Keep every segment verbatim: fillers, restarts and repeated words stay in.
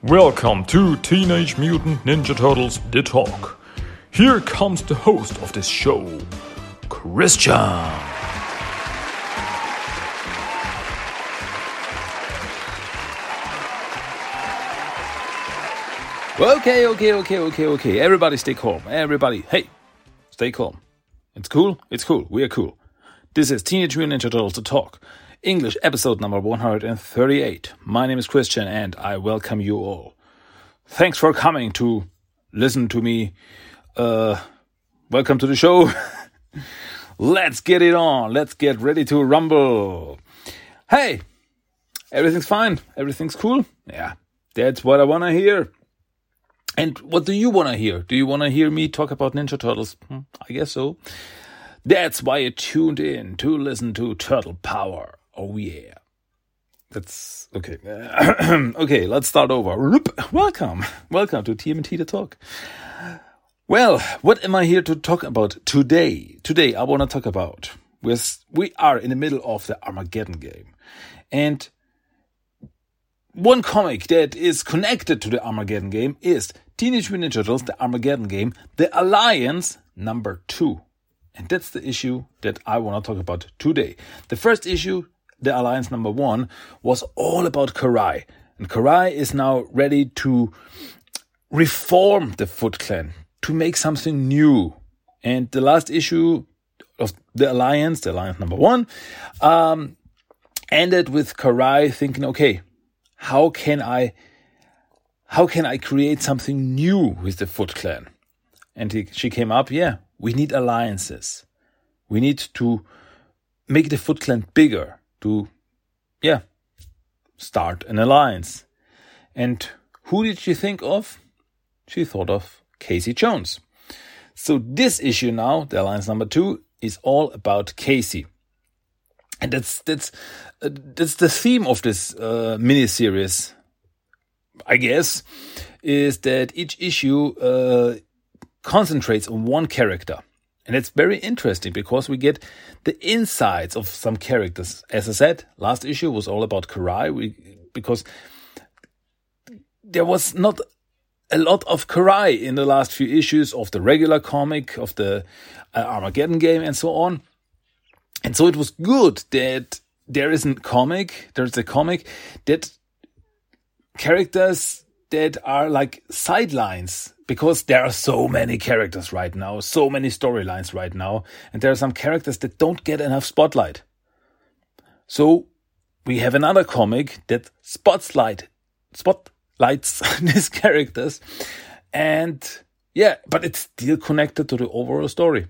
Welcome to Teenage Mutant Ninja Turtles The Talk. Here comes the host of this show, Christian. Okay, okay, okay, okay, okay. Everybody stay calm. Everybody, hey, stay calm. It's cool? It's cool. We are cool. This is Teenage Mutant Ninja Turtles The Talk. English episode number one hundred thirty-eight. My name is Christian and I welcome you all. Thanks for coming to listen to me. Uh, welcome to the show. Let's get it on. Let's get ready to rumble. Hey, everything's fine. Everything's cool. Yeah, that's what I want to hear. And what do you want to hear? Do you want to hear me talk about Ninja Turtles? Hmm, I guess so. That's why you tuned in to listen to Turtle Power. Oh yeah. That's okay. Okay, let's start over. Welcome. Welcome to T M T The Talk. Well, what am I here to talk about today? Today I want to talk about we're, we are in the middle of the Armageddon game. And one comic that is connected to the Armageddon game is Teenage Mutant Ninja Turtles, the Armageddon game, the Alliance number two. And that's the issue that I want to talk about today. The first issue, the Alliance number one, was all about Karai. And Karai is now ready to reform the Foot Clan, to make something new. And the last issue of the Alliance, the Alliance number one, um, ended with Karai thinking, okay, how can I, how can I create something new with the Foot Clan? And he, she came up, yeah, we need alliances. We need to make the Foot Clan bigger, to, yeah, start an alliance. And who did she think of? She thought of Casey Jones. So this issue now, the Alliance number two, is all about Casey. And that's that's uh, that's the theme of this uh, miniseries, I guess, is that each issue uh, concentrates on one character. And it's very interesting because we get the insides of some characters. As I said, last issue was all about Karai, we, because there was not a lot of Karai in the last few issues of the regular comic, of the uh, Armageddon game and so on. And so it was good that there is a comic, there's a comic that characters that are like sidelines, because there are so many characters right now, so many storylines right now, and there are some characters that don't get enough spotlight. So we have another comic that spotlight, spotlights these characters, and yeah, but it's still connected to the overall story.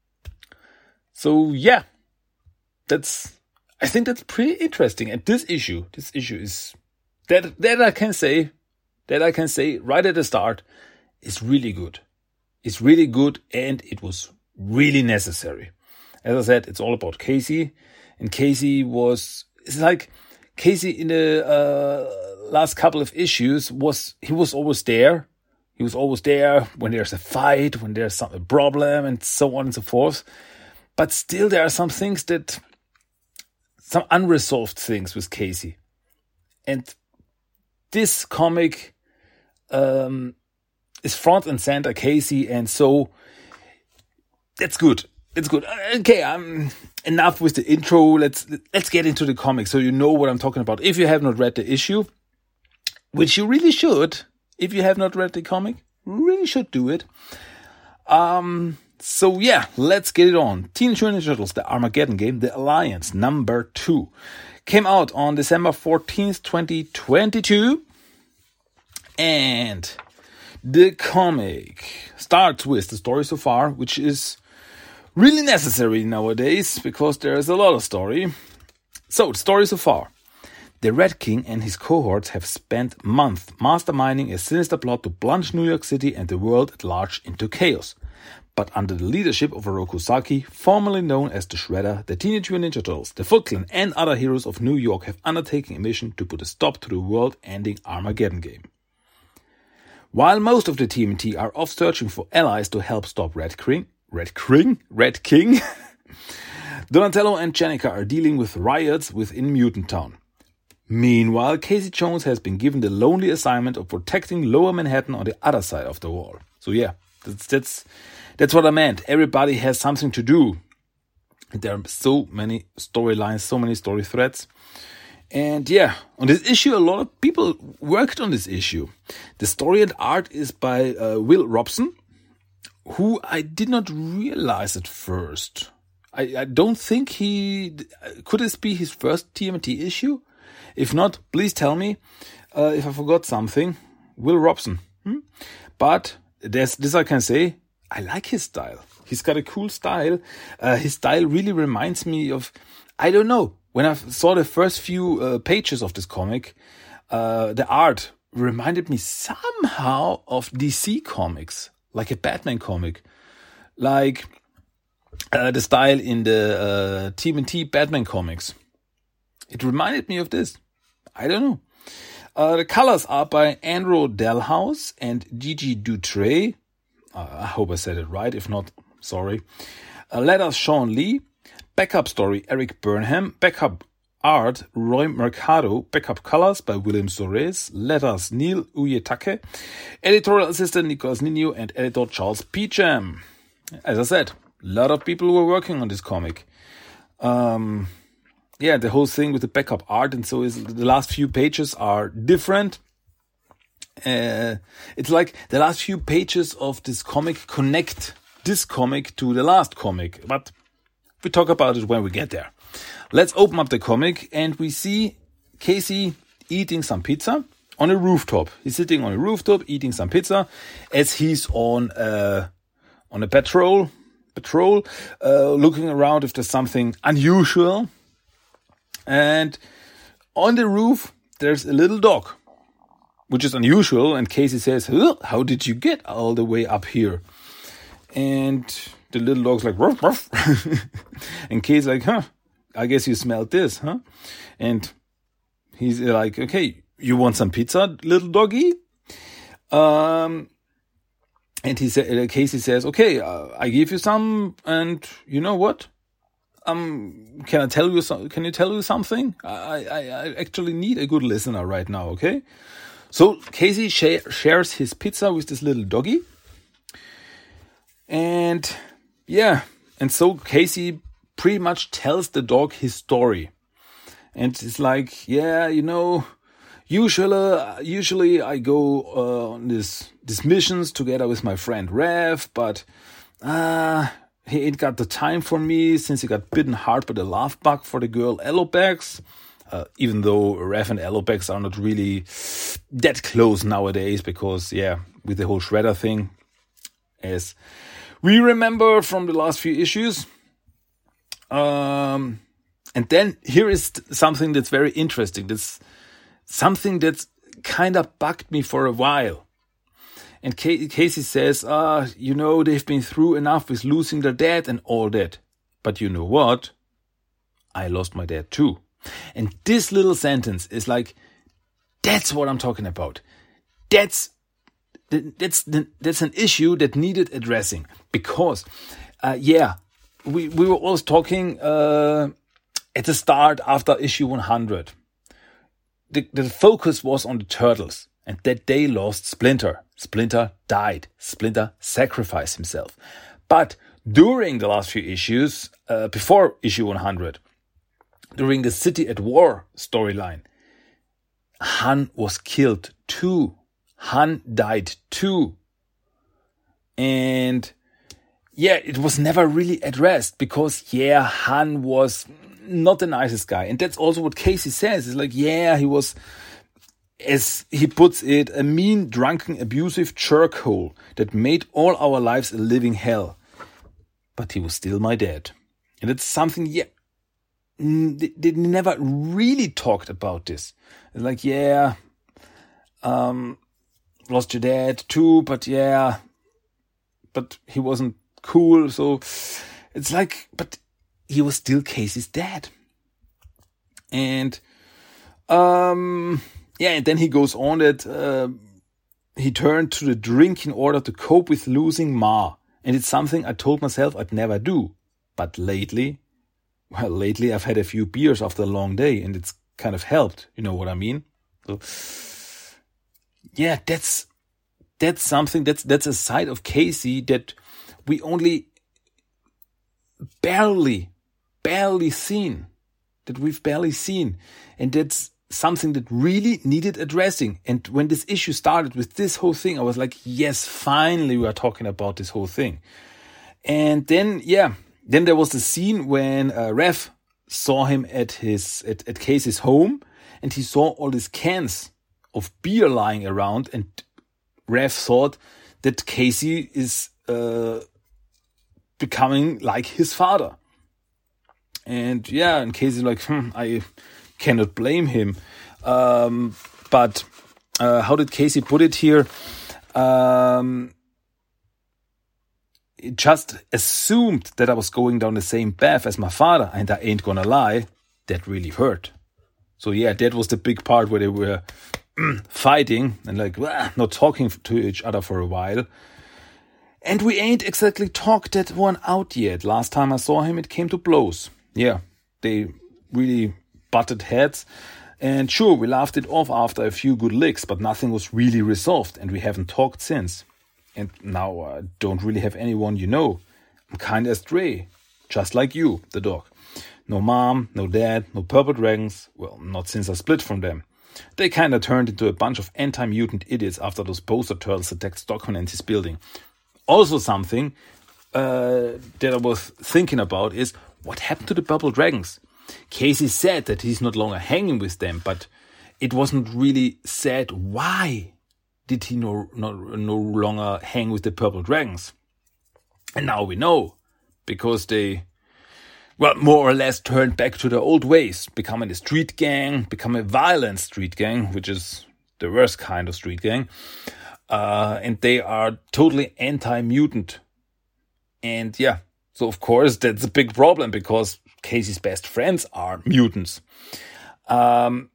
So yeah, that's, I think that's pretty interesting. And this issue, this issue is, that that I can say, that I can say right at the start, is really good. It's really good, and it was really necessary. As I said, it's all about Casey, and Casey was, it's like Casey in the uh, last couple of issues was, he was always there. He was always there when there's a fight, when there's some a problem, and so on and so forth. But still, there are some things that, some unresolved things with Casey. And this comic um, is front and center Casey, and so that's good. It's good. Okay, I'm enough with the intro. Let's let's get into the comic so you know what I'm talking about. If you have not read the issue, which you really should, if you have not read the comic, really should do it. Um. So yeah, let's get it on. Teenage Mutant Ninja Turtles, the Armageddon game, the Alliance number two, came out on December fourteenth, twenty twenty-two. And the comic starts with the story so far, which is really necessary nowadays because there is a lot of story. So, the story so far. The Red King and his cohorts have spent months masterminding a sinister plot to plunge New York City and the world at large into chaos. But under the leadership of Oroku Saki, formerly known as the Shredder, the Teenage Mutant Ninja Turtles, the Foot Clan, and other heroes of New York have undertaken a mission to put a stop to the world-ending Armageddon game. While most of the T M T are off searching for allies to help stop Red King, Red King, Red King, Donatello and Jennika are dealing with riots within Mutant Town. Meanwhile, Casey Jones has been given the lonely assignment of protecting Lower Manhattan on the other side of the wall. So yeah, that's that's that's what I meant. Everybody has something to do. There are so many storylines, so many story threads. And yeah, on this issue, a lot of people worked on this issue. The story and art is by uh, Will Robson, who I did not realize at first. I, I don't think he... Could this be his first T M N T issue? If not, please tell me uh, if I forgot something. Will Robson. Hmm? But there's, this I can say, I like his style. He's got a cool style. Uh, his style really reminds me of... I don't know. When I saw the first few uh, pages of this comic, uh, the art reminded me somehow of D C comics, like a Batman comic, like uh, the style in the uh, T M N T Batman comics. It reminded me of this. I don't know. Uh, the colors are by Andrew Delhouse and Gigi Dutrey. Uh, I hope I said it right. If not, sorry. Uh, letters Sean Lee. Backup story, Eric Burnham. Backup art, Roy Mercado. Backup colors by William Soares. Letters, Neil Uyetake. Editorial assistant, Nicolas Nino. And editor, Charles Peacham. As I said, a lot of people were working on this comic. Um, yeah, the whole thing with the backup art. And so is the last few pages are different. Uh, it's like the last few pages of this comic connect this comic to the last comic. But we talk about it when we get there. Let's open up the comic and we see Casey eating some pizza on a rooftop. He's sitting on a rooftop eating some pizza as he's on a, on a patrol, patrol, uh, looking around if there's something unusual. And on the roof, there's a little dog, which is unusual. And Casey says, huh, how did you get all the way up here? And the little dog's like, ruff, ruff. And Casey's like, huh, I guess you smelled this, huh? And he's like, okay, you want some pizza, little doggy? Um, and he said, Casey says, okay, uh, I give you some, and you know what? Um, can I tell you some, can you tell you something? I, I, I actually need a good listener right now, okay? So Casey sh- shares his pizza with this little doggy. And yeah, and so Casey pretty much tells the dog his story. And it's like, yeah, you know, usually, usually I go uh, on this, these missions together with my friend Rev, but uh, he ain't got the time for me since he got bitten hard by the love bug for the girl Alopex. Uh, even though Rev and Alopex are not really that close nowadays because, yeah, with the whole Shredder thing, as we remember from the last few issues. Um, and then here is something that's very interesting. That's something that's kind of bugged me for a while. And Casey says, uh, you know, they've been through enough with losing their dad and all that. But you know what? I lost my dad too. And this little sentence is like, that's what I'm talking about. That's That's that's an issue that needed addressing because, uh, yeah, we, we were always talking uh, at the start after issue one hundred. The, the focus was on the Turtles and that they lost Splinter. Splinter died. Splinter sacrificed himself. But during the last few issues, uh, before issue one hundred, during the City at War storyline, Han was killed too. Han died too. And yeah, it was never really addressed because, yeah, Han was not the nicest guy. And that's also what Casey says. It's like, yeah, he was, as he puts it, a mean, drunken, abusive jerkhole that made all our lives a living hell. But he was still my dad. And it's something, yeah, they, they never really talked about this. It's like, yeah, um, lost your dad too, but yeah, but he wasn't cool. So it's like, but he was still Casey's dad. And, um, yeah, and then he goes on that, uh, he turned to the drink in order to cope with losing Ma. And it's something I told myself I'd never do. But lately, well, lately I've had a few beers after a long day and it's kind of helped. You know what I mean? So, yeah, that's that's something, that's that's a side of Casey that we only barely, barely seen, that we've barely seen. And that's something that really needed addressing. And when this issue started with this whole thing, I was like, yes, finally we are talking about this whole thing. And then, yeah, then there was the scene when uh, Rev saw him at his at, at Casey's home, and he saw all these cans of beer lying around, and Rev thought that Casey is uh, becoming like his father. And yeah, and Casey's like, hmm, I cannot blame him. Um, but uh, how did Casey put it here? Um, it just assumed that I was going down the same path as my father, and I ain't gonna lie, that really hurt. So yeah, that was the big part where they were fighting and like wah, not talking to each other for a while. And we ain't exactly talked that one out yet. Last time I saw him, it came to blows. Yeah, they really butted heads. And sure, we laughed it off after a few good licks, but nothing was really resolved, and we haven't talked since. And now I don't really have anyone you know. I'm kinda astray, just like you, the dog. No mom, no dad, no purple dragons. Well, not since I split from them. They kinda turned into a bunch of anti-mutant idiots after those poster turtles attacked Stockman and his building. Also something uh, that I was thinking about is, what happened to the purple dragons? Casey said that he's not longer hanging with them, but it wasn't really said why did he no, no, no longer hang with the purple dragons. And now we know, because they, well, more or less turned back to their old ways, becoming a street gang, become a violent street gang, which is the worst kind of street gang. Uh, and they are totally anti-mutant. And yeah, so of course that's a big problem, because Casey's best friends are mutants. Um,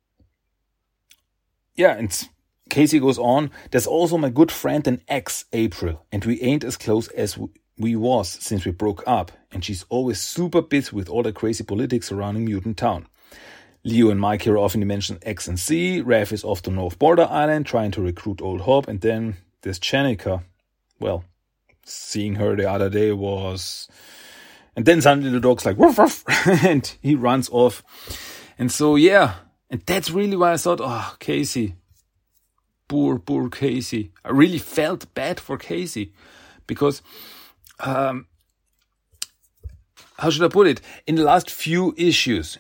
yeah, and Casey goes on, there's also my good friend and ex, April, and we ain't as close as we was since we broke up, and she's always super busy with all the crazy politics surrounding Mutant Town. Leo and Mike here often mention X and C, Rev is off to North Border Island trying to recruit Old Hope, and then there's Chenika. Well, seeing her the other day was... And then suddenly the dog's like, woof, woof, and he runs off. And so, yeah, and that's really why I thought, oh, Casey, poor, poor Casey. I really felt bad for Casey, because, um, how should I put it? In the last few issues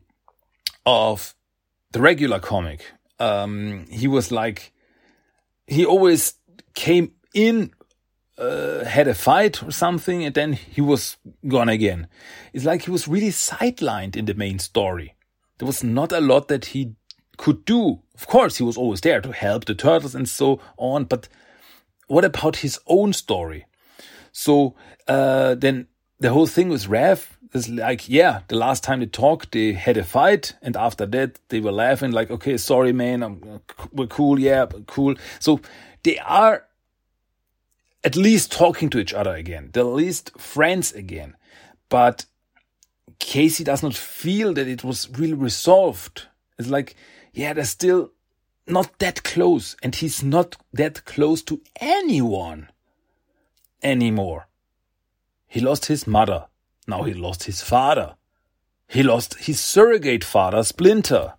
of the regular comic, um, he was like, he always came in, Uh, had a fight or something, and then he was gone again. It's like he was really sidelined in the main story. There was not a lot that he could do. Of course, he was always there to help the turtles and so on, but what about his own story? So uh, then the whole thing with Rev is like, yeah, the last time they talked, they had a fight, and after that, they were laughing like, okay, sorry, man, I'm, we're cool, yeah, cool. So they are at least talking to each other again. They're at least friends again. But Casey does not feel that it was really resolved. It's like, yeah, they're still not that close. And he's not that close to anyone anymore. He lost his mother. Now he lost his father. He lost his surrogate father, Splinter.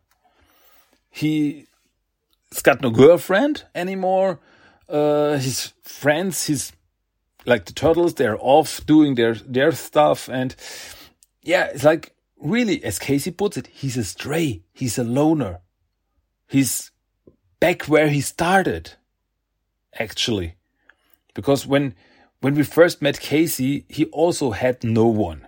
He's got no girlfriend anymore. Uh, his friends, his, like the turtles, they're off doing their, their stuff. And yeah, it's like, really, as Casey puts it, he's a stray. He's a loner. He's back where he started, actually. Because when, when we first met Casey, he also had no one.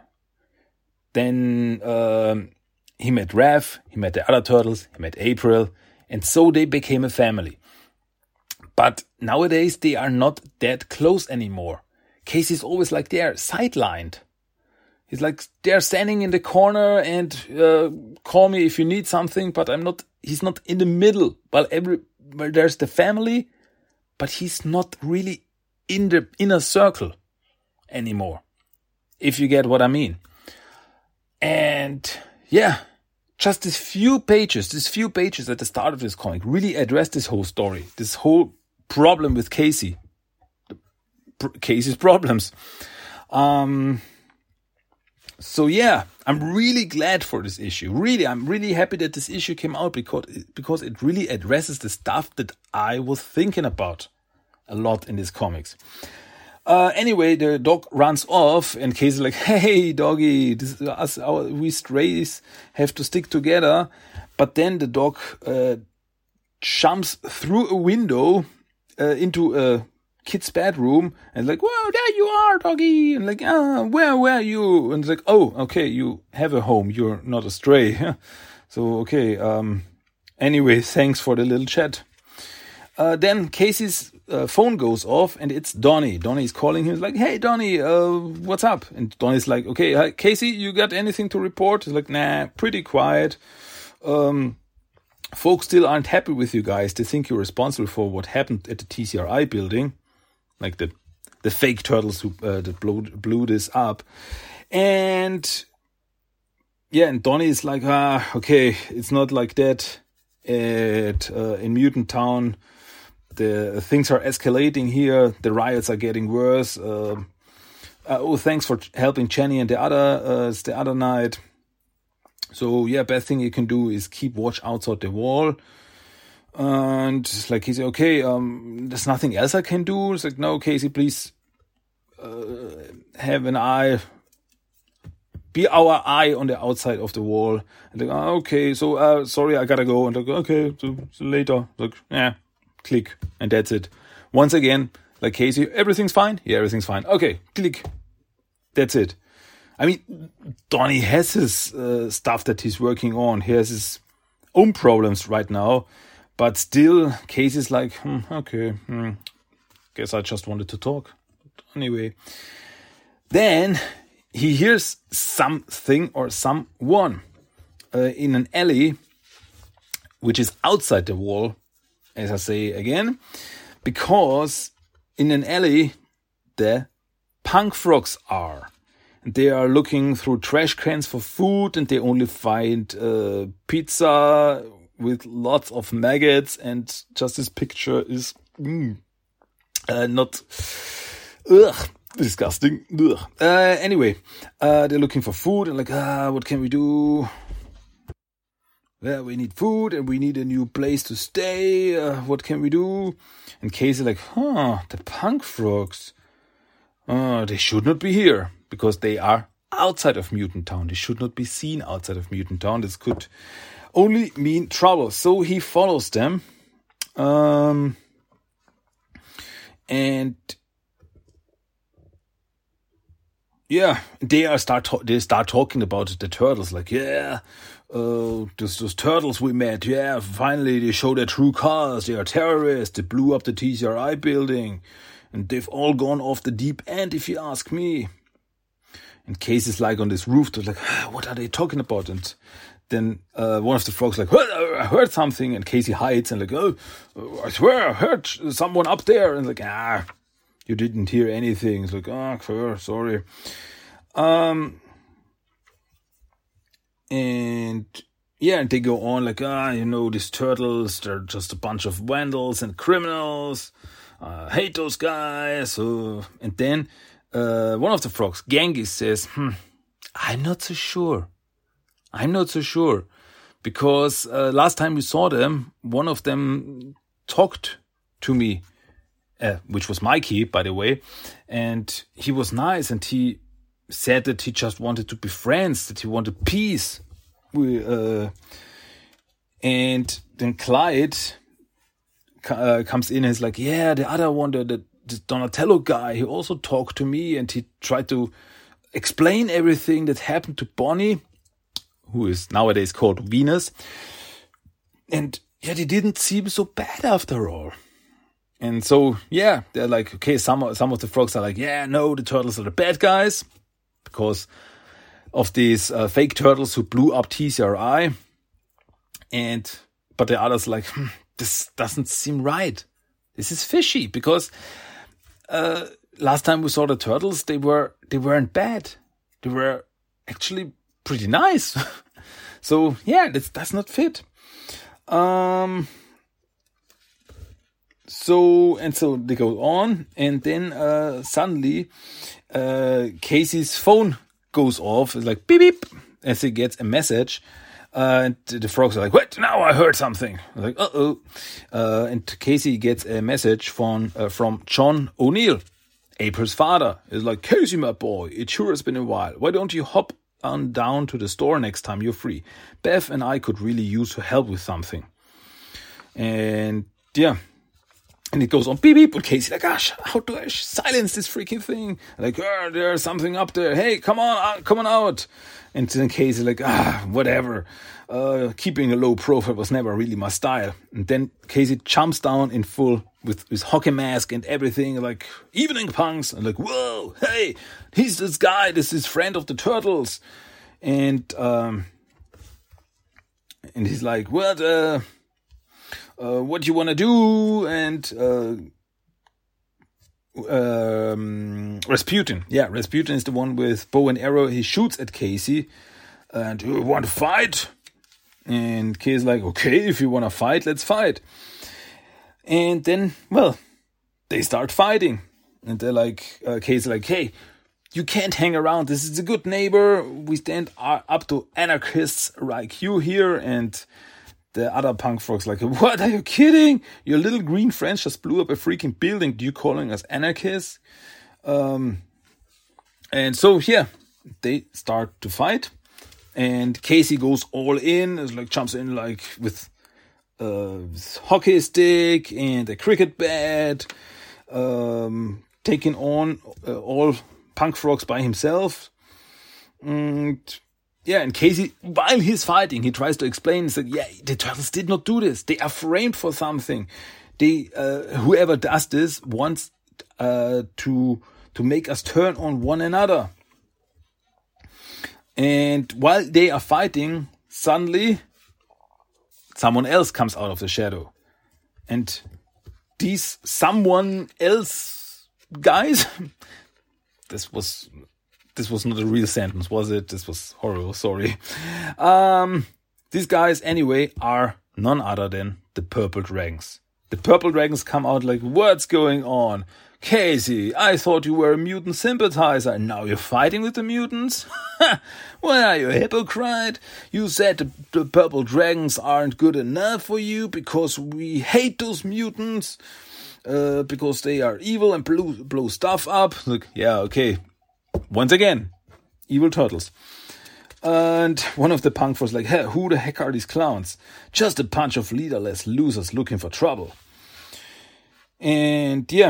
Then, um, he met Rev, he met the other turtles, he met April, and so they became a family. But nowadays, they are not that close anymore. Casey's always like they're sidelined. He's like, they're standing in the corner and uh, call me if you need something, but I'm not, he's not in the middle. While every, well, there's the family, but he's not really in the inner circle anymore. If you get what I mean. And yeah, just these few pages, these few pages at the start of this comic really address this whole story, this whole problem with Casey, Casey's problems. Um, so yeah, I'm really glad for this issue. Really, I'm really happy that this issue came out because because it really addresses the stuff that I was thinking about a lot in these comics. Uh, anyway, the dog runs off, and Casey's like, "Hey, doggy, this, us, our, we strays have to stick together." But then the dog uh, jumps through a window uh, into a kid's bedroom, and like, "Whoa, there you are, doggy!" And like, "Ah, where were you?" And it's like, "Oh, okay, you have a home. You're not a stray." So okay. Um. Anyway, thanks for the little chat. Uh, then Casey's uh, phone goes off, and it's Donnie. Donnie's calling him. He's like, "Hey, Donnie, uh, what's up?" And Donnie's like, "Okay, hi, Casey, you got anything to report?" He's like, "Nah, pretty quiet. Um, folks still aren't happy with you guys. They think you're responsible for what happened at the T C R I building, like the the fake turtles who uh, that blew, blew this up." And yeah, and Donnie is like, "Ah, okay, it's not like that at uh, in Mutant Town. The things are escalating here. The riots are getting worse. Uh, uh, oh, thanks for helping Jenny and the other uh, the other night. So yeah, best thing you can do is keep watch outside the wall." And like he's okay. Um, there's nothing else I can do. It's like, "No, Casey, please uh, have an eye. Be our eye on the outside of the wall." And like, oh, okay, so uh, sorry, I gotta go. And like, okay, so, so later. Like, yeah. Click, and that's it. Once again, like Casey, everything's fine? Yeah, everything's fine. Okay, click. That's it. I mean, Donnie has his uh, stuff that he's working on. He has his own problems right now. But still, Casey's like, hmm, okay, hmm, guess I just wanted to talk. But anyway. Then he hears something or someone uh, in an alley, which is outside the wall. As I say again, because in an alley, the punk frogs are. And they are looking through trash cans for food, and they only find uh, pizza with lots of maggots, and just this picture is mm, uh, not ugh, disgusting. Ugh. Uh, anyway, uh, they're looking for food, and like, ah, what can we do? Well, we need food and we need a new place to stay. Uh, what can we do? And Casey like, huh, the punk frogs. Uh, they should not be here because they are outside of Mutant Town. They should not be seen outside of Mutant Town. This could only mean trouble. So he follows them. Um, and yeah, they are start to- they start talking about the turtles. Like, yeah, uh, those, those turtles we met. Yeah, finally they show their true colors. They are terrorists. They blew up the T C R I building, and they've all gone off the deep end, if you ask me. And Casey's like on this roof. They're like, ah, what are they talking about? And then uh, one of the frogs like, I heard something. And Casey hides and like, oh, I swear I heard someone up there. And like, ah. You didn't hear anything. It's like, oh, sure, sorry. Um, and yeah, and they go on like, ah, you know, these turtles, they're just a bunch of vandals and criminals. I hate those guys. Uh, and then uh, one of the frogs, Genghis, says, hmm, I'm not so sure. I'm not so sure. Because uh, last time we saw them, one of them talked to me. Uh, which was Mikey, by the way, and he was nice, and he said that he just wanted to be friends, that he wanted peace. We, uh, and then Clyde uh, comes in and is like, yeah, the other one, the, the, the Donatello guy, he also talked to me, and he tried to explain everything that happened to Bonnie, who is nowadays called Venus, and yeah, they didn't seem so bad after all. And so, yeah, they're like, okay, some, some of the frogs are like, yeah, no, the turtles are the bad guys because of these uh, fake turtles who blew up T C R I. And, but the others are like, hmm, this doesn't seem right. This is fishy because uh, last time we saw the turtles, they were, they weren't bad. They were actually pretty nice. So yeah, this does not fit. Um. So and so they go on, and then uh, suddenly uh, Casey's phone goes off. It's like beep beep, as he gets a message. Uh, and the frogs are like, "What? Now I heard something." I'm like, "Uh oh!" Uh, and Casey gets a message from uh, from John O'Neill, April's father. It's like, "Casey, my boy, it sure has been a while. Why don't you hop on down to the store next time you're free? Beth and I could really use your help with something." And yeah. And it goes on beep beep, and Casey like, gosh, how do I silence this freaking thing? Like, oh, there's something up there. Hey, come on, uh, come on out. And then Casey like, ah, whatever. Uh, keeping a low profile was never really my style. And then Casey jumps down in full with his hockey mask and everything, like evening punks. And like, whoa, hey, he's this guy. This is friend of the Turtles. And um, and he's like, what? Uh, Uh, what do you want to do? And uh, um, Rasputin. Yeah, Rasputin is the one with bow and arrow. He shoots at Casey. And you want to fight? And Casey's like, okay, if you want to fight, let's fight. And then, well, they start fighting. And they're like, uh, Casey's like, hey, you can't hang around. This is a good neighbor. We stand up to anarchists like you here. And the other punk frogs like, what, are you kidding? Your little green friends just blew up a freaking building. Do you calling us anarchists? Um, and so, yeah, they start to fight. And Casey goes all in. It's like jumps in like with a hockey stick and a cricket bat. Um, taking on uh, all punk frogs by himself. And yeah, and Casey, while he's fighting, he tries to explain. He's like, yeah, the Turtles did not do this. They are framed for something. They, uh, whoever does this wants uh, to to make us turn on one another. And while they are fighting, suddenly someone else comes out of the shadow. And these someone else guys, this was... This was not a real sentence, was it? This was horrible, sorry. Um, these guys, anyway, are none other than the Purple Dragons. The Purple Dragons come out like, what's going on? Casey, I thought you were a mutant sympathizer, and now you're fighting with the mutants? Why are you a hypocrite? You said the, the Purple Dragons aren't good enough for you because we hate those mutants, uh, because they are evil and blow, blow stuff up. Look, yeah, okay. Once again, evil turtles. And one of the punk was like, hey, who the heck are these clowns? Just a bunch of leaderless losers looking for trouble. And yeah.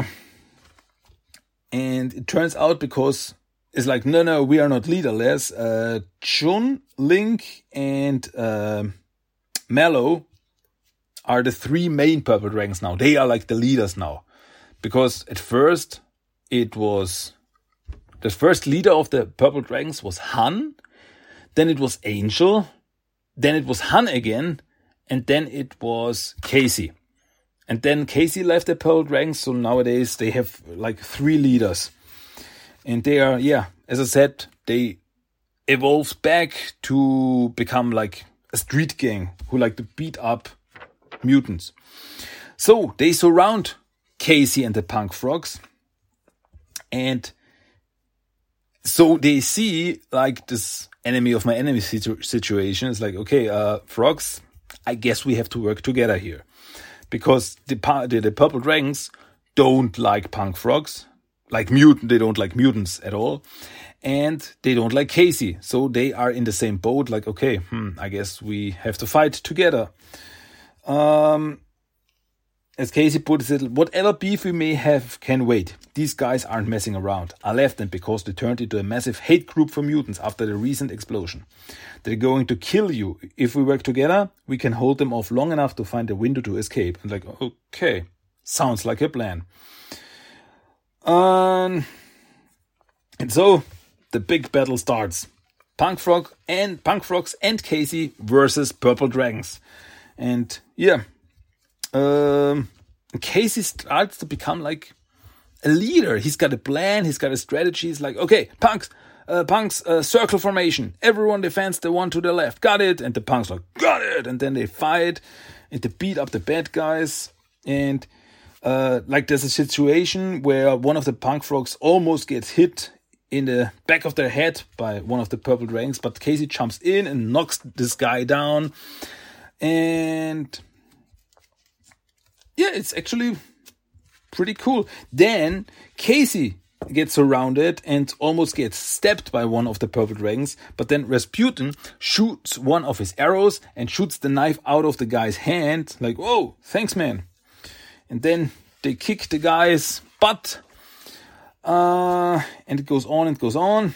And it turns out because it's like, no, no, we are not leaderless. Uh, Chun, Link, and uh, Mallow are the three main Purple Dragons now. They are like the leaders now. Because at first it was... The first leader of the Purple Dragons was Han, then it was Angel, then it was Han again, and then it was Casey. And then Casey left the Purple Dragons, so nowadays they have like three leaders. And they are, yeah, as I said, they evolved back to become like a street gang who like to beat up mutants. So they surround Casey and the punk frogs, and so they see like this enemy of my enemy situ- situation. It's like, okay, uh, frogs, I guess we have to work together here. Because the, the, the Purple Dragons don't like punk frogs. Like mutant, they don't like mutants at all. And they don't like Casey. So they are in the same boat. Like, okay, hmm, I guess we have to fight together. Um... As Casey puts it, whatever beef we may have can wait. These guys aren't messing around. I left them because they turned into a massive hate group for mutants after the recent explosion. They're going to kill you. If we work together, we can hold them off long enough to find a window to escape. And like, okay, sounds like a plan. Um, and so the big battle starts. Punk Frog and Punk Frogs and Casey versus Purple Dragons. And yeah. Um, Casey starts to become like a leader. He's got a plan. He's got a strategy. He's like, okay, punks, uh, Punks, uh, circle formation. Everyone defends the one to the left. Got it. And the Punks like, got it. And then they fight and they beat up the bad guys. And uh, like there's a situation where one of the Punk Frogs almost gets hit in the back of their head by one of the Purple Dragons. But Casey jumps in and knocks this guy down. And yeah, it's actually pretty cool. Then Casey gets surrounded and almost gets stabbed by one of the Purple Dragons. But then Rasputin shoots one of his arrows and shoots the knife out of the guy's hand. Like, whoa, thanks, man. And then they kick the guy's butt. Uh, and it goes on and goes on.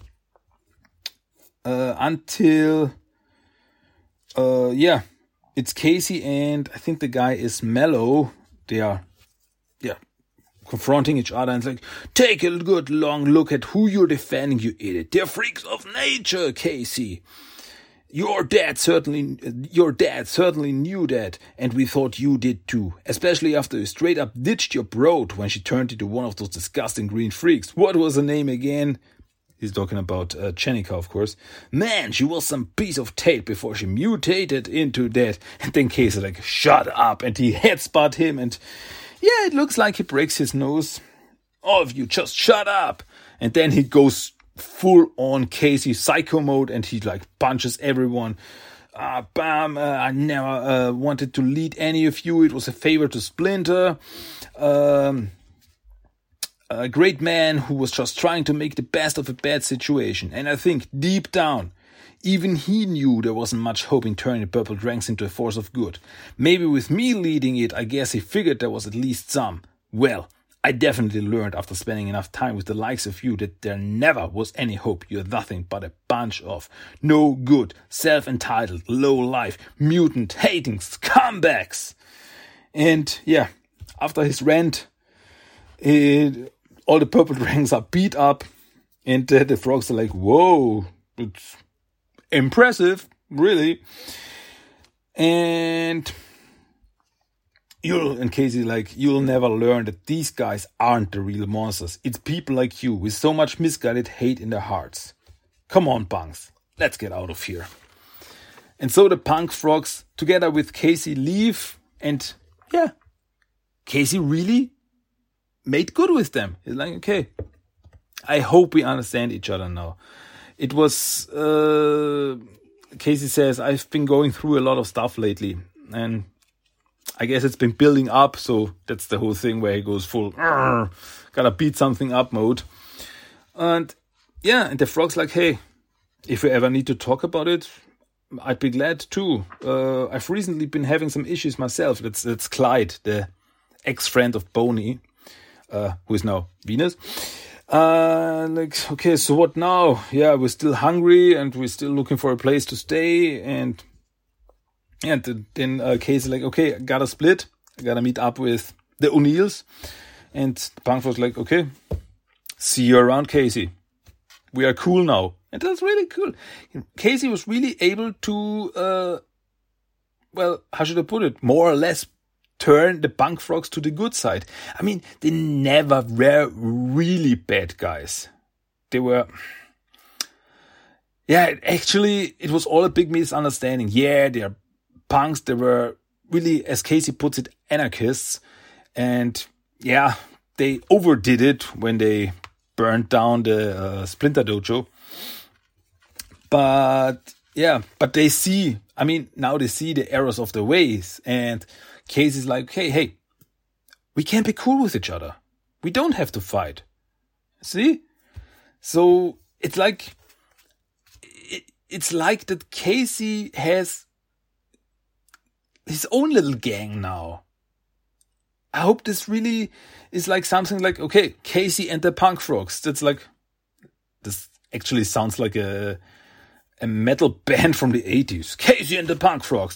Uh, until, uh, yeah, it's Casey and I think the guy is Mellow. They are, yeah, confronting each other and it's like, take a good long look at who you're defending, you idiot. They're freaks of nature, Casey. Your dad certainly, your dad certainly knew that, and we thought you did too. Especially after you straight up ditched your broad when she turned into one of those disgusting green freaks. What was her name again? He's talking about uh, Chenika, of course. Man, she was some piece of tape before she mutated into that. And then Casey like, shut up, and he headbutt him, and yeah, it looks like he breaks his nose. All of you, just shut up. And then he goes full on Casey psycho mode and he like punches everyone. Uh, bam, uh, I never uh, wanted to lead any of you. It was a favor to Splinter. Um, a great man who was just trying to make the best of a bad situation. And I think deep down, even he knew there wasn't much hope in turning the Purple Dragons into a force of good. Maybe with me leading it, I guess he figured there was at least some. Well, I definitely learned after spending enough time with the likes of you that there never was any hope. You're nothing but a bunch of no good, self-entitled, low-life, mutant-hating scumbags. And yeah, after his rant, it, all the Purple Dragons are beat up and uh, the frogs are like, whoa, it's impressive, really. And You'll, and Casey, like, you'll never learn that these guys aren't the real monsters. It's people like you with so much misguided hate in their hearts. Come on, punks. Let's get out of here. And so the Punk Frogs, together with Casey, leave. And, yeah, Casey really made good with them. He's like, okay, I hope we understand each other now. It was, uh, Casey says, I've been going through a lot of stuff lately. And I guess it's been building up, so that's the whole thing where he goes full, gotta beat something up mode. And yeah, and the frog's like, hey, if you ever need to talk about it, I'd be glad too. Uh, I've recently been having some issues myself. That's, that's Clyde, the ex-friend of Boney, uh, who is now Venus. Uh, like, okay, so what now? Yeah, we're still hungry and we're still looking for a place to stay. And And then uh, Casey like, okay, I gotta split. I gotta meet up with the O'Neills. And the Punk was like, okay, see you around, Casey. We are cool now. And that's really cool. Casey was really able to, uh, well, how should I put it? More or less turn the Punk Frogs to the good side. I mean, they never were really bad guys. They were... Yeah, actually, it was all a big misunderstanding. Yeah, they're punks, they were really, as Casey puts it, anarchists. And yeah, they overdid it when they burned down the uh, Splinter Dojo. But yeah, but they see, I mean, now they see the errors of the ways. And Casey's like, hey, hey, we can be cool with each other. We don't have to fight. See? So it's like, it, it's like that Casey has his own little gang now. I hope this really is like something like, okay, Casey and the Punk Frogs. That's like, this actually sounds like a a metal band from the eighties. Casey and the Punk Frogs.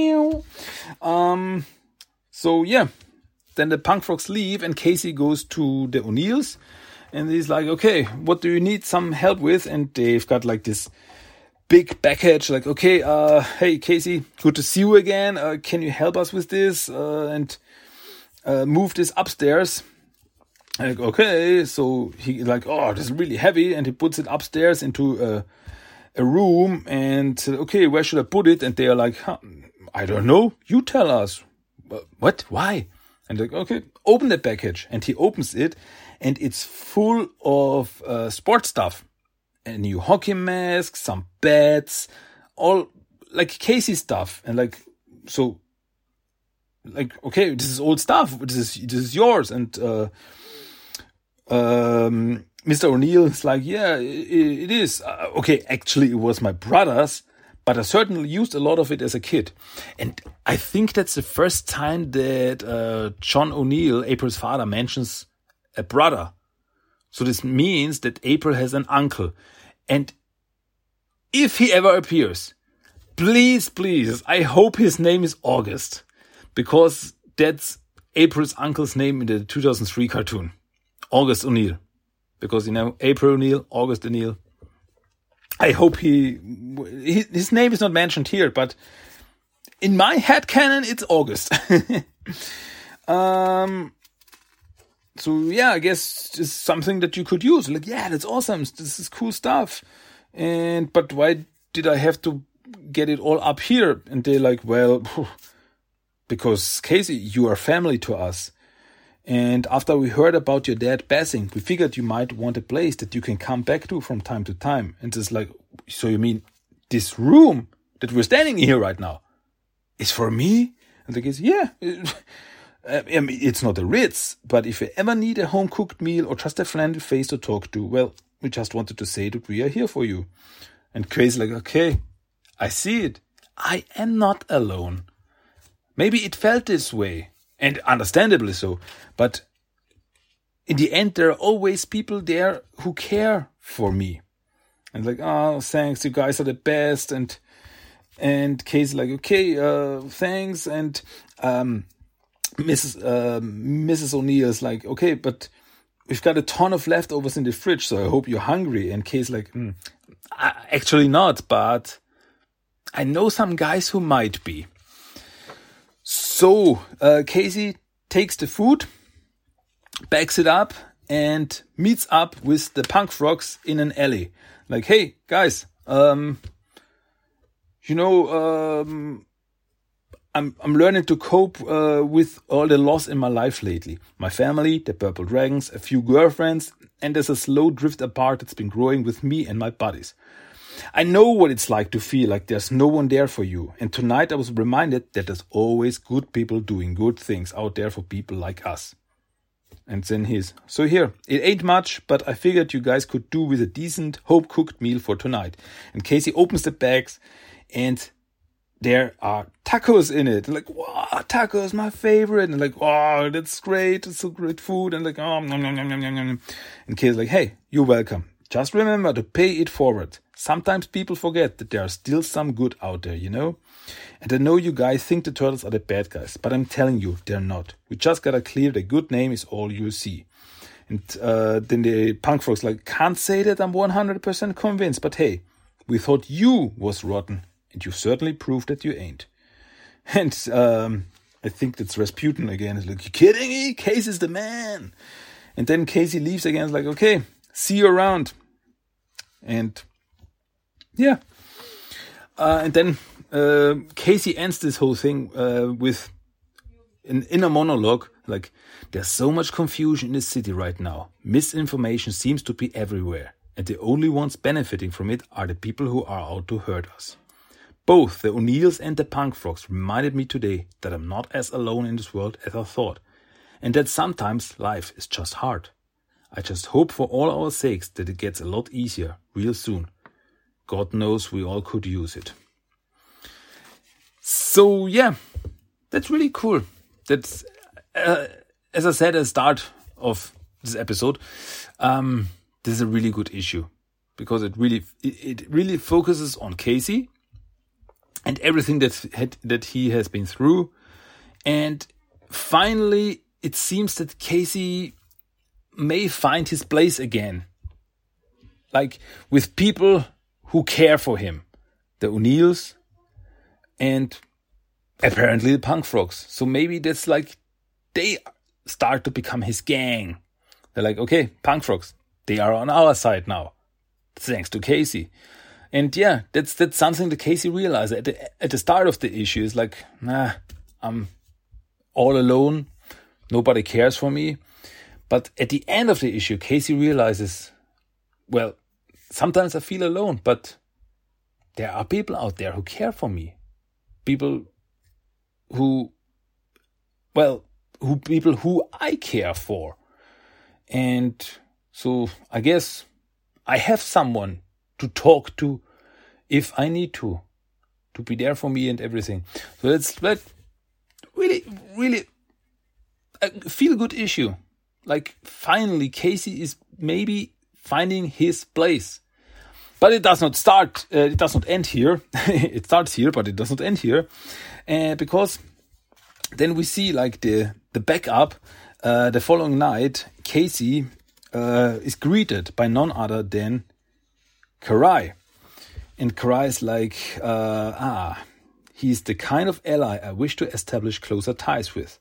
Um. So yeah, then the Punk Frogs leave and Casey goes to the O'Neills and he's like, okay, what do you need some help with? And they've got like this big package, like, okay, uh, hey, Casey, good to see you again. Uh, can you help us with this uh, and uh, move this upstairs? Like, okay, so he like, oh, this is really heavy, and he puts it upstairs into a, a room, and okay, where should I put it? And they are like, huh, I don't know, you tell us. What? Why? And like, okay, open the package, and he opens it, and it's full of uh, sports stuff, a new hockey mask, some bats, all like Casey stuff, and like so, like okay, this is old stuff. This is this is yours, and. Uh, Um, Mister O'Neill is like, yeah, it, it is. Uh, okay, actually, it was my brother's, but I certainly used a lot of it as a kid. And I think that's the first time that uh, John O'Neill, April's father, mentions a brother. So this means that April has an uncle. And if he ever appears, please, please, I hope his name is August, because that's April's uncle's name in the two thousand three cartoon. August O'Neill, because, you know, April O'Neill, August O'Neill. I hope he, his name is not mentioned here, but in my headcanon, it's August. um, so yeah, I guess it's something that you could use. Like, yeah, that's awesome. This is cool stuff. And, but why did I have to get it all up here? And they're like, well, because Casey, you are family to us. And after we heard about your dad passing, we figured you might want a place that you can come back to from time to time. And it's like, so you mean this room that we're standing in here right now is for me? And the kids, yeah. I mean, it's not a Ritz, but if you ever need a home-cooked meal or just a friendly face to talk to, well, we just wanted to say that we are here for you. And Crazy's like, okay, I see it. I am not alone. Maybe it felt this way. And understandably so. But in the end, there are always people there who care for me. And like, oh, thanks, you guys are the best. And and Kay's like, okay, uh, thanks. And um, Missus Uh, Missus O'Neill is like, okay, but we've got a ton of leftovers in the fridge, so I hope you're hungry. And Kay's like, mm, actually not, but I know some guys who might be. So, uh, Casey takes the food, backs it up, and meets up with the punk frogs in an alley. Like, hey, guys, um, you know, um, I'm I'm learning to cope uh, with all the loss in my life lately. My family, the Purple Dragons, a few girlfriends, and there's a slow drift apart that's been growing with me and my buddies. I know what it's like to feel like there's no one there for you. And tonight I was reminded that there's always good people doing good things out there for people like us. And then his. So here, it ain't much, but I figured you guys could do with a decent, home-cooked meal for tonight. And Casey opens the bags, and there are tacos in it. Like, wow, tacos, my favorite. And like, wow, that's great. It's so great food. And like, oh, nom, nom, nom, nom, nom. And Casey's like, hey, you're welcome. Just remember to pay it forward. Sometimes people forget that there are still some good out there, you know? And I know you guys think the turtles are the bad guys, but I'm telling you, they're not. We just gotta clear the good name is all you see. And uh, then the punk frogs like, can't say that I'm one hundred percent convinced, but hey, we thought you was rotten, and you certainly proved that you ain't. And um, I think that's Rasputin again. It's like, you kidding me? Casey's the man. And then Casey leaves again. It's like, okay, see you around. And yeah. Uh, and then uh, Casey ends this whole thing uh, with an inner monologue. Like, there's so much confusion in the city right now. Misinformation seems to be everywhere. And the only ones benefiting from it are the people who are out to hurt us. Both the O'Neills and the punk frogs reminded me today that I'm not as alone in this world as I thought. And that sometimes life is just hard. I just hope for all our sakes that it gets a lot easier real soon. God knows we all could use it. So yeah, that's really cool. That's, uh, as I said at the start of this episode, um, this is a really good issue. Because it really, it, it really focuses on Casey and everything that, had, that he has been through. And finally, it seems that Casey may find his place again. Like, with people who care for him. The O'Neills and apparently the punk frogs. So maybe that's like, they start to become his gang. They're like, okay, punk frogs, they are on our side now, thanks to Casey. And yeah, that's that's something that Casey realized at the, at the start of the issue. Is like, nah, I'm all alone. Nobody cares for me. But at the end of the issue, Casey realizes, well, sometimes I feel alone, but there are people out there who care for me. People who, well, who people who I care for. And so I guess I have someone to talk to if I need to, to be there for me and everything. So it's like really, really a feel-good issue. Like finally Casey is maybe finding his place. But it does not start, uh, it does not end here. It starts here, but it does not end here. Uh, because then we see like the, the backup. Uh, the following night, Casey uh, is greeted by none other than Karai. And Karai is like, uh, ah, he's the kind of ally I wish to establish closer ties with.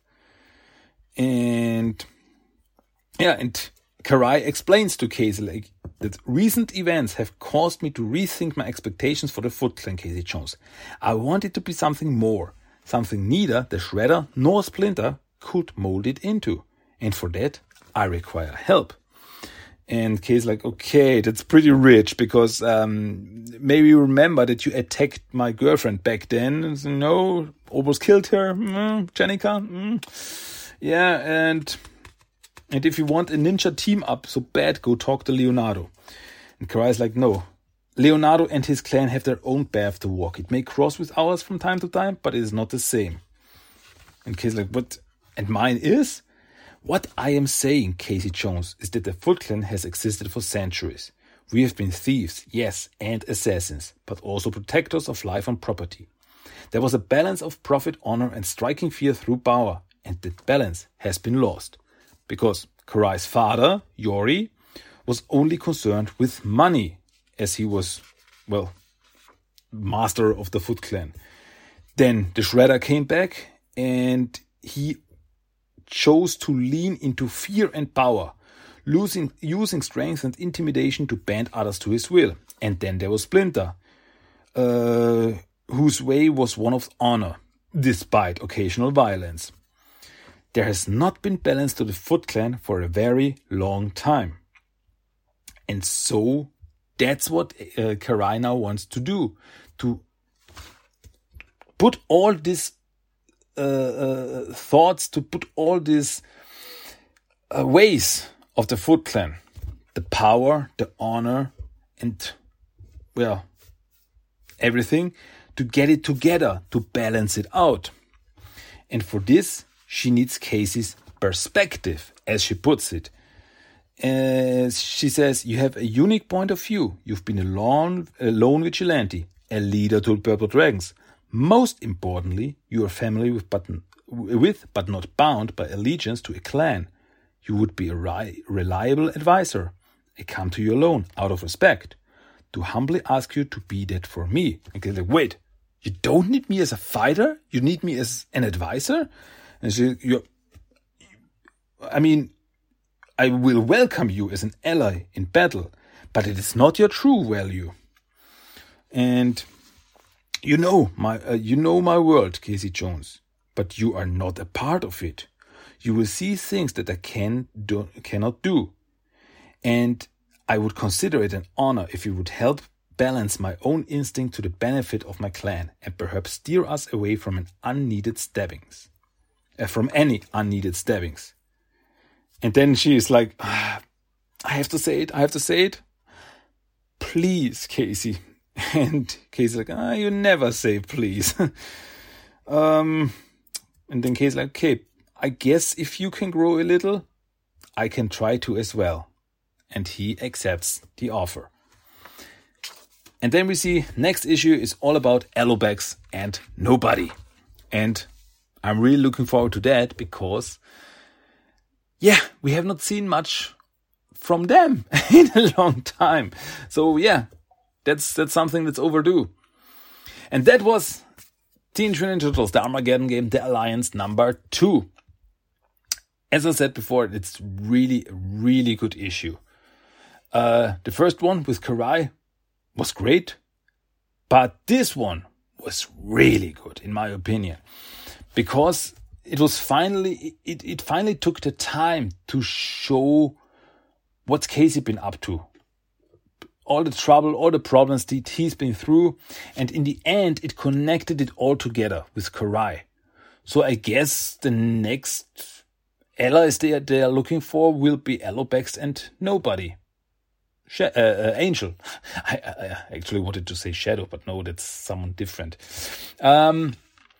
And yeah, and Karai explains to Casey like that recent events have caused me to rethink my expectations for the Foot Clan, Casey Jones. I want it to be something more, something neither the Shredder nor Splinter could mold it into. And for that, I require help. And Kay's like, okay, that's pretty rich because um, maybe you remember that you attacked my girlfriend back then. So, no, almost killed her, mm, Jennica. Mm. Yeah, and and if you want a ninja team up so bad, go talk to Leonardo. And Karai's like, no, Leonardo and his clan have their own path to walk. It may cross with ours from time to time, but it is not the same. And Kay's like, what? And mine is? What I am saying, Casey Jones, is that the Foot Clan has existed for centuries. We have been thieves, yes, and assassins, but also protectors of life and property. There was a balance of profit, honor, and striking fear through power, and that balance has been lost. Because Karai's father, Yori, was only concerned with money, as he was, well, master of the Foot Clan. Then the Shredder came back, and he chose to lean into fear and power, losing, using strength and intimidation to bend others to his will. And then there was Splinter, uh, whose way was one of honor, despite occasional violence. There has not been balance to the Foot Clan for a very long time. And so that's what uh, Karai now wants to do, to put all this Uh, uh, thoughts, to put all these uh, ways of the Foot Clan, the power, the honor, and, well, everything, to get it together, to balance it out. And for this, she needs Casey's perspective, as she puts it. Uh, she says, you have a unique point of view. You've been a lone, a lone vigilante, a leader to Purple Dragons. Most importantly, you are family with but, with, but not bound by allegiance to a clan. You would be a ri- reliable advisor. I come to you alone, out of respect, to humbly ask you to be that for me. And they're like, wait, you don't need me as a fighter? You need me as an advisor? And she, you, I mean, I will welcome you as an ally in battle, but it is not your true value. And You know my, uh, you know my world, Casey Jones, but you are not a part of it. You will see things that I can do, cannot do, and I would consider it an honor if you would help balance my own instinct to the benefit of my clan, and perhaps steer us away from an unneeded stabbings, uh, from any unneeded stabbings. And then she is like, ah, I have to say it, I have to say it. Please, Casey. And Casey's like, ah, you never say please. um, and then Casey's like, okay, I guess if you can grow a little, I can try to as well. And he accepts the offer. And then we see next issue is all about Alobax and Nobody. And I'm really looking forward to that because, yeah, we have not seen much from them in a long time. So, yeah. That's that's something that's overdue. And that was Teenage Mutant Ninja Turtles, the Armageddon game, the Alliance number two. As I said before, it's really, really good issue. Uh, the first one with Karai was great, but this one was really good, in my opinion, because it was finally, it, it finally took the time to show what's Casey been up to. All the trouble, all the problems that he's been through. And in the end, it connected it all together with Karai. So I guess the next allies they are, they are looking for will be Alopex and nobody. Sh- uh, uh, Angel. I, I actually wanted to say Shadow, but no, that's someone different. Um,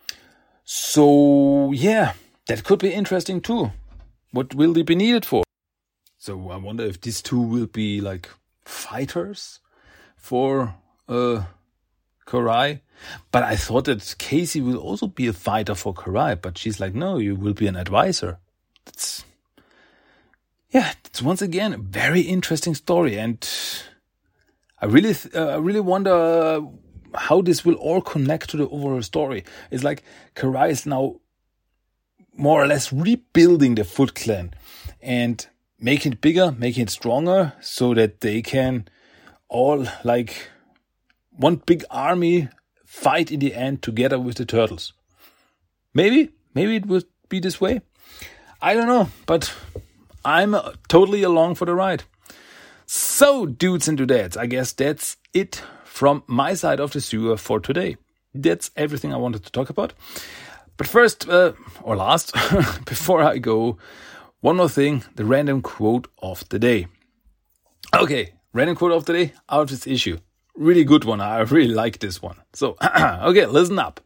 so, yeah, that could be interesting too. What will they be needed for? So I wonder if these two will be like fighters for uh, Karai. But I thought that Casey will also be a fighter for Karai. But she's like, no, you will be an advisor. That's, yeah, it's once again a very interesting story. And I really, th- uh, I really wonder uh, how this will all connect to the overall story. It's like Karai is now more or less rebuilding the Foot Clan and making it bigger, making it stronger, so that they can all, like, one big army fight in the end together with the turtles. Maybe, maybe it will be this way. I don't know, but I'm uh, totally along for the ride. So, dudes and dudettes, I guess that's it from my side of the sewer for today. That's everything I wanted to talk about. But first, uh, or last, before I go, one more thing, the random quote of the day. Okay, random quote of the day out of this issue. Really good one. I really like this one. So, okay, listen up.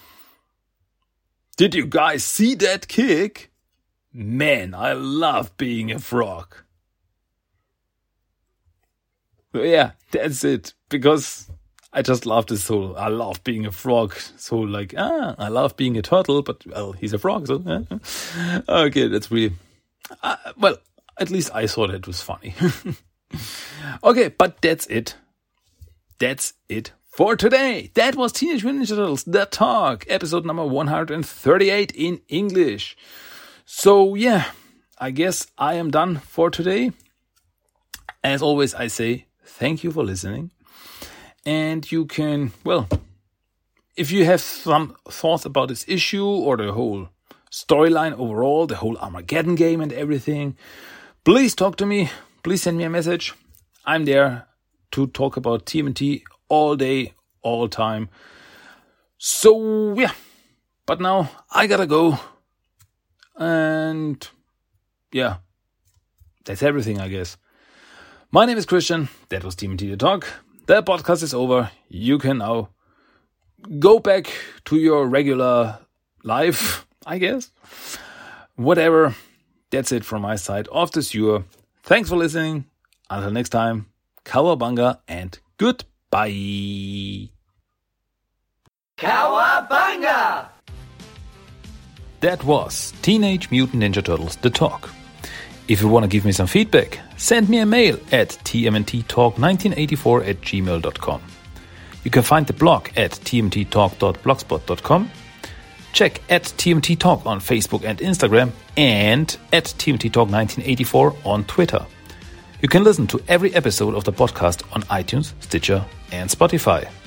Did you guys see that kick? Man, I love being a frog. Yeah, that's it. Because I just love this whole, I love being a frog. So like, ah, I love being a turtle, but well, he's a frog. So, yeah. Okay, that's really... Uh, well, at least I thought it was funny. Okay, but that's it. That's it for today. That was Teenage Mutant Ninja Turtles, The Talk, episode number one hundred thirty-eight in English. So, yeah, I guess I am done for today. As always, I say thank you for listening. And you can, well, if you have some thoughts about this issue or the whole storyline overall, the whole Armageddon game and everything, please talk to me. Please send me a message. I'm there to talk about T M N T all day, all time. So, yeah. But now I gotta go. And, yeah. That's everything, I guess. My name is Christian. That was T M N T The Talk. The podcast is over. You can now go back to your regular life, I guess. Whatever. That's it from my side of the sewer. Thanks for listening. Until next time, Cowabunga and goodbye. Cowabunga! That was Teenage Mutant Ninja Turtles The Talk. If you want to give me some feedback, send me a mail at t m n t talk nineteen eighty-four at gmail dot com. You can find the blog at t m t talk dot blogspot dot com. Check at T M T Talk on Facebook and Instagram and at T M T Talk nineteen eighty-four on Twitter. You can listen to every episode of the podcast on iTunes, Stitcher and Spotify.